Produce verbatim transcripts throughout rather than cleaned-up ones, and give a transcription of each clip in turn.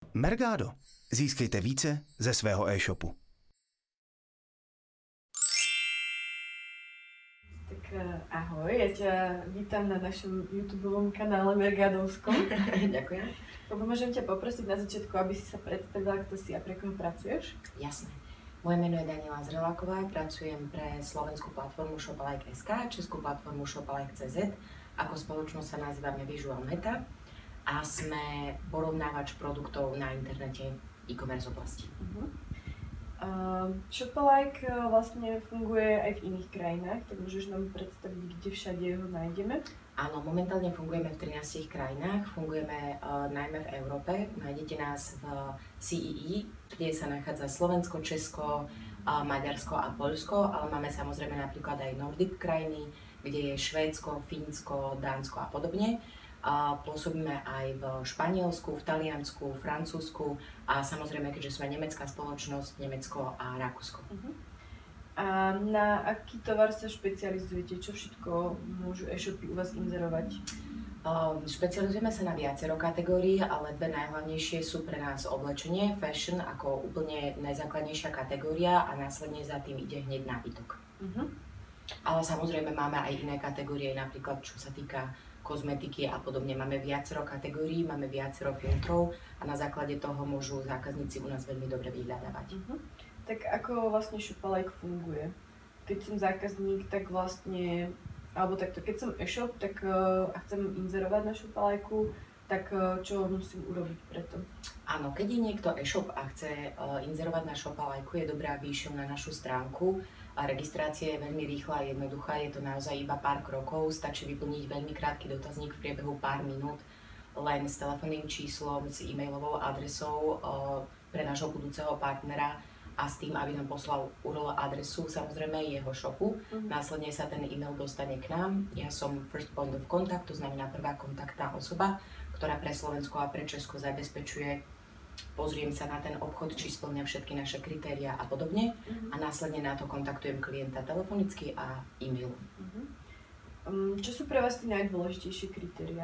Mergado. Získejte více ze svého e-shopu. Tak ahoj, ja ťa vítam na našom YouTubeovom kanále Mergadovskom. Ďakujem. Môžem ťa poprosiť na začiatku, aby si sa predstavila, kto si a pre koho pracuješ? Jasné. Moje meno je Daniela Zreláková, pracujem pre slovenskú platformu Shopalike bodka es ká, českú platformu Shopalike bodka cé zet. Ako spoločnosť sa nazývame Visual Meta a sme porovnávač produktov na internete e-commerce oblasti. Uh-huh. Uh, Shopalike vlastne funguje aj v iných krajinách, tak môžeš nám predstaviť, kde všade ho nájdeme? Áno, momentálne fungujeme v trinástich krajinách, fungujeme uh, najmä v Európe. Nájdete nás v cé é é, kde sa nachádza Slovensko, Česko, uh, Maďarsko a Poľsko, ale máme samozrejme napríklad aj Nordic krajiny, kde je Švédsko, Fínsko, Dánsko a podobne. Uh, pôsobíme aj v Španielsku, v Taliansku, Francúzsku a samozrejme, keďže sme nemecká spoločnosť, Nemecko a Rakúsko. Uh-huh. A na aký tovar sa špecializujete? Čo všetko môžu e-shopy u vás inzerovať? Uh, špecializujeme sa na viacero kategórií, ale dve najhlavnejšie sú pre nás oblečenie, fashion ako úplne najzákladnejšia kategória a následne za tým ide hneď nábytok. Uh-huh. Ale samozrejme máme aj iné kategórie, napríklad čo sa týka kozmetiky a podobne. Máme viacero kategórií, máme viacero filtrov a na základe toho môžu zákazníci u nás veľmi dobre vyhľadávať. Uh-huh. Tak ako vlastne Shopalike funguje? Keď som zákazník, tak vlastne, alebo takto, keď som e-shop, tak uh, a chcem inzerovať na Shopalike, tak uh, čo musím urobiť preto? Áno, keď je niekto e-shop a chce uh, inzerovať na Shopalike, je dobré, aby išiel na našu stránku. A registrácia je veľmi rýchla a jednoduchá, je to naozaj iba pár krokov, stačí vyplniť veľmi krátky dotazník v priebehu pár minút, len s telefónnym číslom, s e-mailovou adresou uh, pre nášho budúceho partnera a s tým, aby nám poslal ú er el adresu, samozrejme jeho shopu. Mm-hmm. Následne sa ten e-mail dostane k nám. Ja som first point of contact, to znamená prvá kontaktná osoba, ktorá pre Slovensko a pre Česko zabezpečuje, pozriem sa na ten obchod, či spĺňa všetky naše kritériá a podobne. Mm-hmm. A následne na to kontaktujem klienta telefonicky a e-mailom. Mm-hmm. Um, čo sú pre vás tie najdôležitejšie kritériá?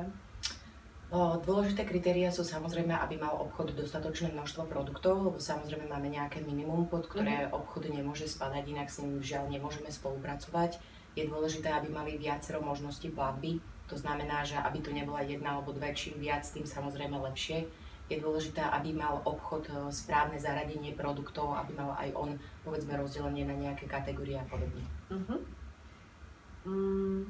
O, dôležité kritériá sú samozrejme, aby mal obchod dostatočné množstvo produktov, lebo samozrejme máme nejaké minimum, pod ktoré mm-hmm. obchod nemôže spadať, inak s ním žiaľ nemôžeme spolupracovať. Je dôležité, aby mali viacero možností platby, to znamená, že aby to nebola jedna alebo dve, čím viac, tým samozrejme lepšie. Je dôležité, aby mal obchod správne zaradenie produktov, aby mal aj on, povedzme, rozdelenie na nejaké kategórie a podobne. Uh-huh. Mm,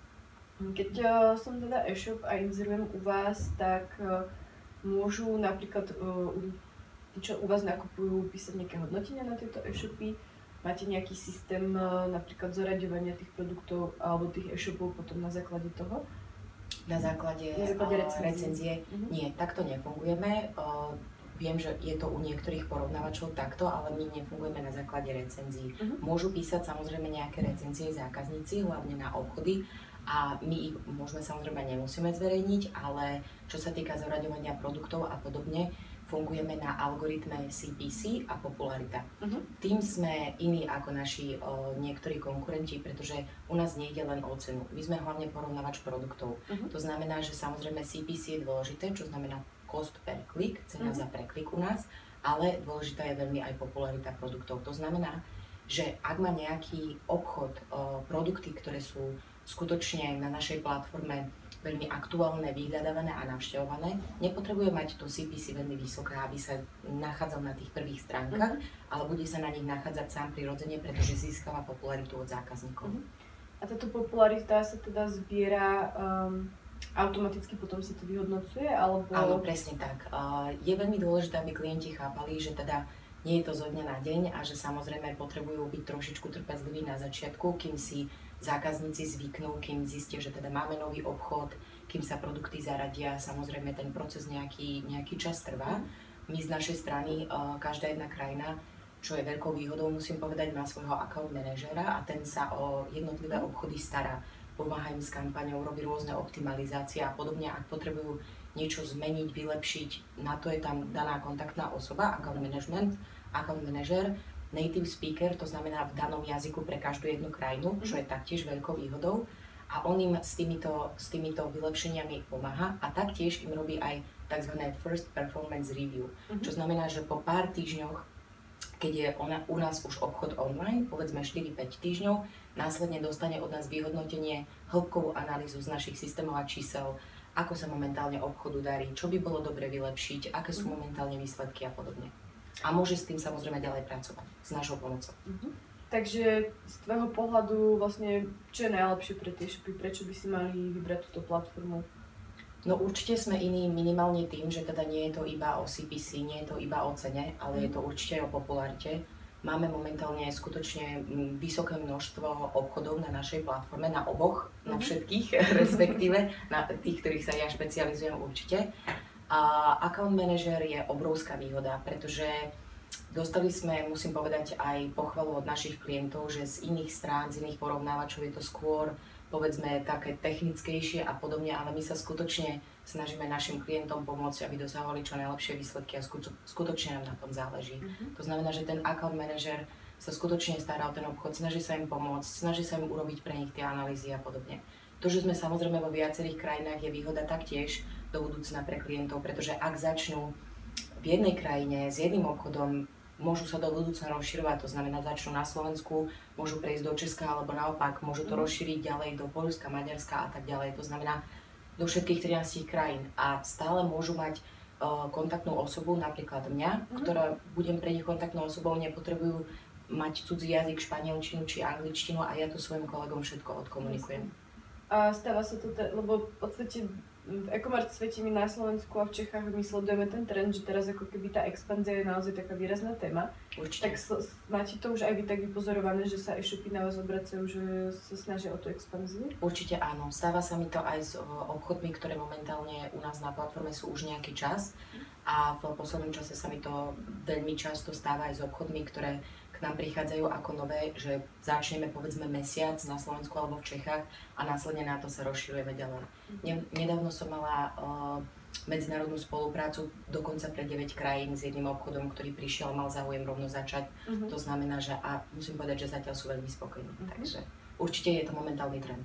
keď uh, som teda e-shop a inzerujem u vás, tak uh, môžu napríklad, uh, tí, čo u vás nakupujú, písať nejaké hodnotenia na tieto e-shopy? Máte nejaký systém uh, napríklad zoraďovania tých produktov alebo tých e-shopov potom na základe toho? Na základe, na základe recenzie. recenzie. Uh-huh. Nie, takto nefungujeme. Uh, viem, že je to u niektorých porovnávačov takto, ale my nefungujeme na základe recenzií. Uh-huh. Môžu písať samozrejme nejaké recenzie zákazníci, hlavne na obchody a my ich môžeme samozrejme nemusíme zverejniť, ale čo sa týka zoraďovania produktov a podobne, fungujeme na algoritme cé pé cé a popularita. Uh-huh. Tým sme iní ako naši o, niektorí konkurenti, pretože u nás nejde len o cenu. My sme hlavne porovnávač produktov. Uh-huh. To znamená, že samozrejme cé pé cé je dôležité, čo znamená cost per click, cena uh-huh. za preklik u nás, ale dôležitá je veľmi aj popularita produktov. To znamená, že ak má nejaký obchod o, produkty, ktoré sú skutočne na našej platforme veľmi aktuálne, vyhľadávané a navštevované, nepotrebuje mať to cé pé cé veľmi vysoké, aby sa nachádzal na tých prvých stránkach, uh-huh. ale bude sa na nich nachádzať sám prirodzene, pretože získava popularitu od zákazníkov. Uh-huh. A táto popularita sa teda zbiera um, automaticky, potom sa to vyhodnocuje, alebo... Áno, presne tak. Uh, je veľmi dôležité, aby klienti chápali, že teda nie je to zo dňa na deň a že samozrejme potrebujú byť trošičku trpezliví na začiatku, kým si zákazníci zvyknú, kým zistia, že teda máme nový obchod, kým sa produkty zaradia, samozrejme ten proces nejaký, nejaký čas trvá. My z našej strany, každá jedna krajina, čo je veľkou výhodou, musím povedať, má svojho account manažera a ten sa o jednotlivé obchody stará. Pomáha im s kampaňou, robí rôzne optimalizácie a podobne. Ak potrebujú niečo zmeniť, vylepšiť, na to je tam daná kontaktná osoba, account management, account manažer, native speaker, to znamená v danom jazyku pre každú jednu krajinu, čo je taktiež veľkou výhodou. a on im s týmito, s týmito vylepšeniami pomáha a taktiež im robí aj tzv. First Performance Review, uh-huh. čo znamená, že po pár týždňoch, keď je ona, u nás už obchod online, povedzme štyri päť týždňov, následne dostane od nás vyhodnotenie, hĺbkovú analýzu z našich systémov a čísel, ako sa momentálne obchodu darí, čo by bolo dobre vylepšiť, aké sú momentálne výsledky a podobne. A môže s tým samozrejme ďalej pracovať s našou pomocou. Uh-huh. Takže z tvojho pohľadu vlastne, čo je najlepšie pre tie shopy, prečo by si mali vybrať túto platformu? No určite sme iní minimálne tým, že teda nie je to iba o C P C, nie je to iba o cene, ale mm. je to určite aj o popularite. Máme momentálne skutočne vysoké množstvo obchodov na našej platforme, na oboch, mm. na všetkých, respektíve na tých, ktorých sa ja špecializujem určite. A account manager je obrovská výhoda, pretože dostali sme, musím povedať, aj pochvalu od našich klientov, že z iných strán, z iných porovnávačov je to skôr, povedzme, také technickejšie a podobne, ale my sa skutočne snažíme našim klientom pomôcť, aby dosahovali čo najlepšie výsledky a skutočne nám na tom záleží. Uh-huh. To znamená, že ten account manager sa skutočne stará o ten obchod, snaží sa im pomôcť, snaží sa im urobiť pre nich tie analýzy a podobne. To, že sme samozrejme vo viacerých krajinách, je výhoda taktiež do budúcna pre klientov, pretože ak začnú v jednej krajine s jedným obchodom, môžu sa do budúcna rozširovať, to znamená začnú na Slovensku, môžu prejsť do Česka alebo naopak, môžu to rozšíriť ďalej do Poľska, Maďarska a tak ďalej, to znamená do všetkých trinástich krajín a stále môžu mať uh, kontaktnú osobu, napríklad mňa, mm. ktorá budem pre nich kontaktnou osobou, nepotrebujú mať cudzí jazyk, španielčinu či angličtinu a ja to svojim kolegom všetko odkomunikujem. A stáva sa to, te, lebo v podstate v e-commerce svete my na Slovensku a v Čechách my sledujeme ten trend, že teraz ako keby tá expanzia je naozaj taká výrazná téma. Určite. Tak sl- máte to už aj vy tak vypozorované, že sa e-shopy na vás obracajú, že sa snažia o tú expanziu? Určite áno. Stáva sa mi to aj s obchodmi, ktoré momentálne u nás na platforme sú už nejaký čas. A v poslednom čase sa mi to veľmi často stáva aj s obchodmi, ktoré nám prichádzajú ako nové, že začneme povedzme mesiac na Slovensku alebo v Čechách a následne na to sa rozširujeme ďalej. Ne, nedávno som mala uh, medzinárodnú spoluprácu dokonca pre deväť krajín s jedným obchodom, ktorý prišiel a mal záujem rovno začať. Uh-huh. To znamená, že a musím povedať, že zatiaľ sú veľmi spokojní. Uh-huh. Takže určite je to momentálny trend.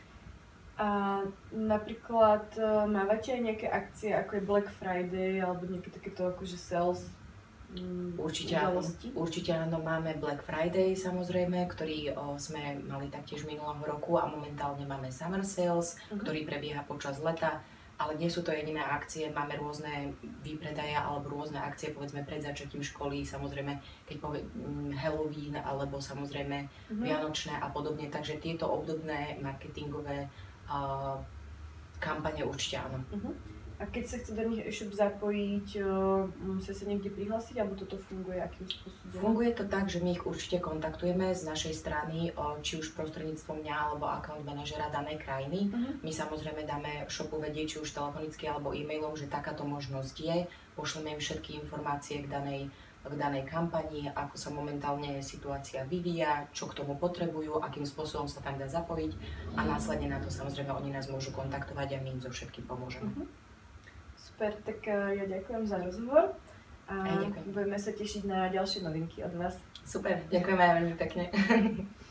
A napríklad uh, mávate aj nejaké akcie ako je Black Friday alebo nejaké takéto akože sales? Určite áno, určite áno, máme Black Friday samozrejme, ktorý o, sme mali taktiež minulého roku a momentálne máme Summer Sales, uh-huh. ktorý prebieha počas leta, ale nie sú to jediné akcie, máme rôzne výpredaje alebo rôzne akcie, povedzme pred začatím školy, samozrejme keď povie Halloween alebo samozrejme uh-huh. Vianočné a podobne, takže tieto obdobné marketingové uh, kampane určite áno. Uh-huh. A keď sa chce do nich e-shop zapojiť, musia sa niekde prihlásiť, alebo toto funguje akým spôsobom? Funguje to tak, že my ich určite kontaktujeme z našej strany, či už prostredníctvom mňa alebo account manažera danej krajiny. Uh-huh. My samozrejme dáme shopu vedieť, či už telefonicky alebo e-mailom, že takáto možnosť je. Pošleme im všetky informácie k danej, k danej kampani, ako sa momentálne situácia vyvíja, čo k tomu potrebujú, akým spôsobom sa tam dá zapojiť a následne na to samozrejme oni nás môžu kontaktovať a my im so všetkým pomôžeme. Uh-huh. Super, tak ja ďakujem za rozhovor a aj ďakujem. Budeme sa tešiť na ďalšie novinky od vás. Super, ďakujem aj veľmi pekne.